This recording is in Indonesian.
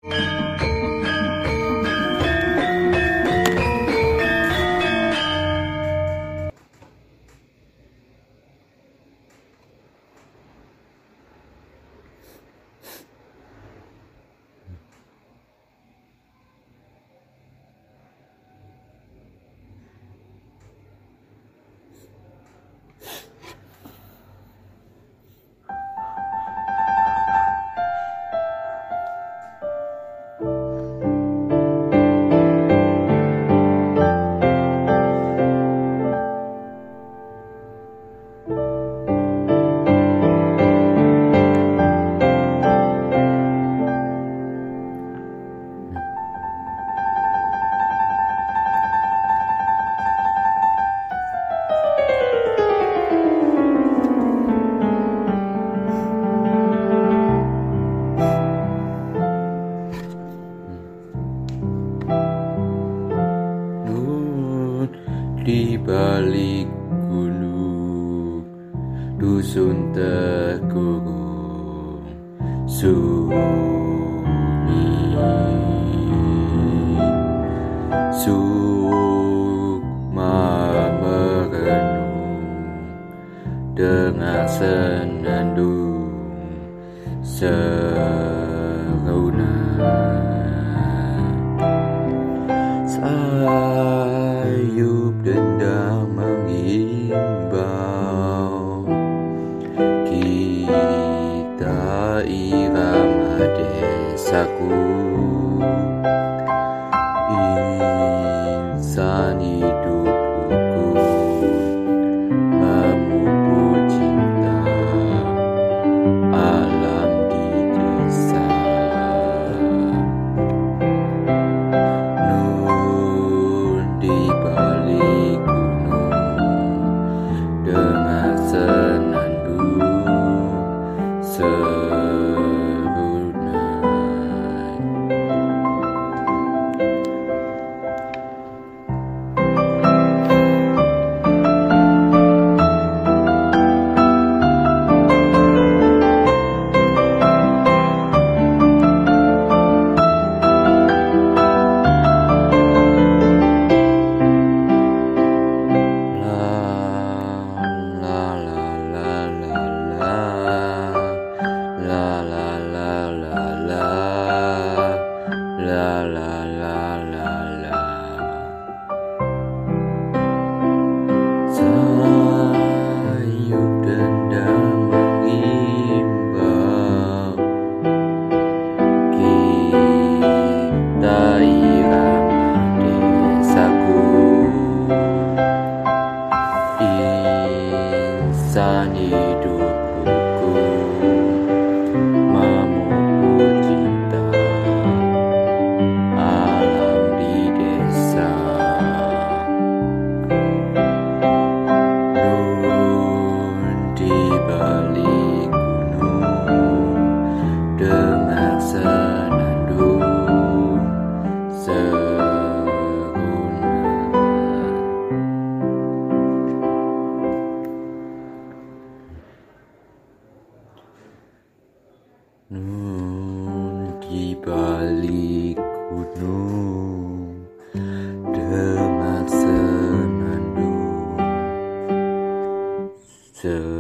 Di balik gunung, dusun terkurung sunyi, sukma merenung dengan senandung seruna. Sayup dendang mengimbau, kita irama desaku, insan hidup rukun memupuk cinta alam di desa. Di balik gunung dengan senandung serunai. Sayup dendang mengimbau, kita irama desaku, insan hidup rukun memupuk cinta alam di desa. Di balik gunung dengan senandung serunai. Di balik gunung dengan senandung